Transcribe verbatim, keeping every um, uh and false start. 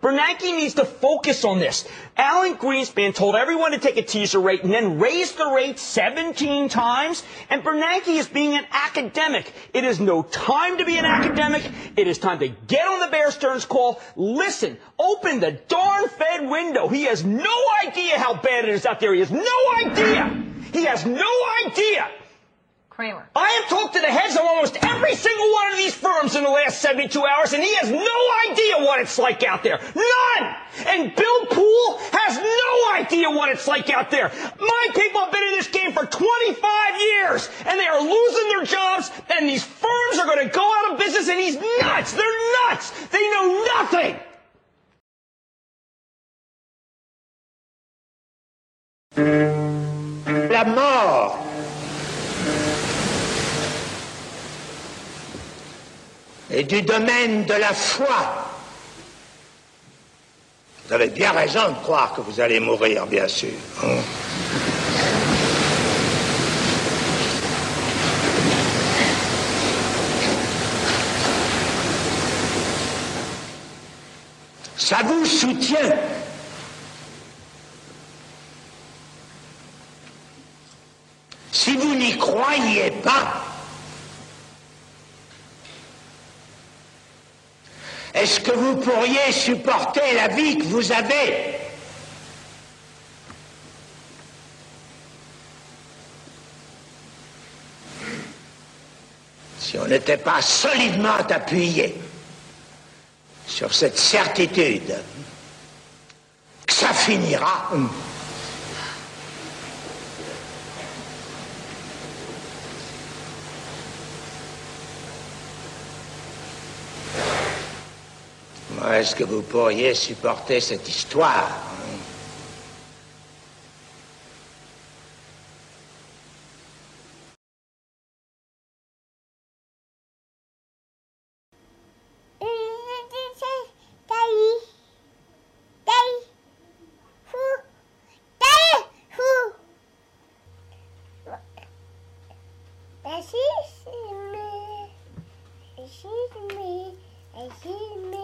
Bernanke needs to focus on this. Alan Greenspan told everyone to take a teaser rate and then raise the rate seventeen times. And Bernanke is being an academic. It is no time to be an academic. It is time to get on the Bear Stearns call. Listen, open the darn Fed window. He has no idea how bad it is out there. He has no idea. He has no idea. Kramer. I have talked to the heads of almost every single one of these firms in the last seventy-two hours, and he has no idea what it's like out there. None! And Bill Poole has no idea what it's like out there. My people have been in this game for twenty-five years, and they are losing their jobs, and these firms are going to go out of business, and he's nuts! They're nuts! They know nothing! La mort et du domaine de la foi. Vous avez bien raison de croire que vous allez mourir, bien sûr. Hein? Ça vous soutient. Si vous n'y croyez pas, est-ce que vous pourriez supporter la vie que vous avez? Si on n'était pas solidement appuyé sur cette certitude que ça finira, est-ce que vous pourriez supporter cette histoire? Excuse me. Excuse me. Excuse me.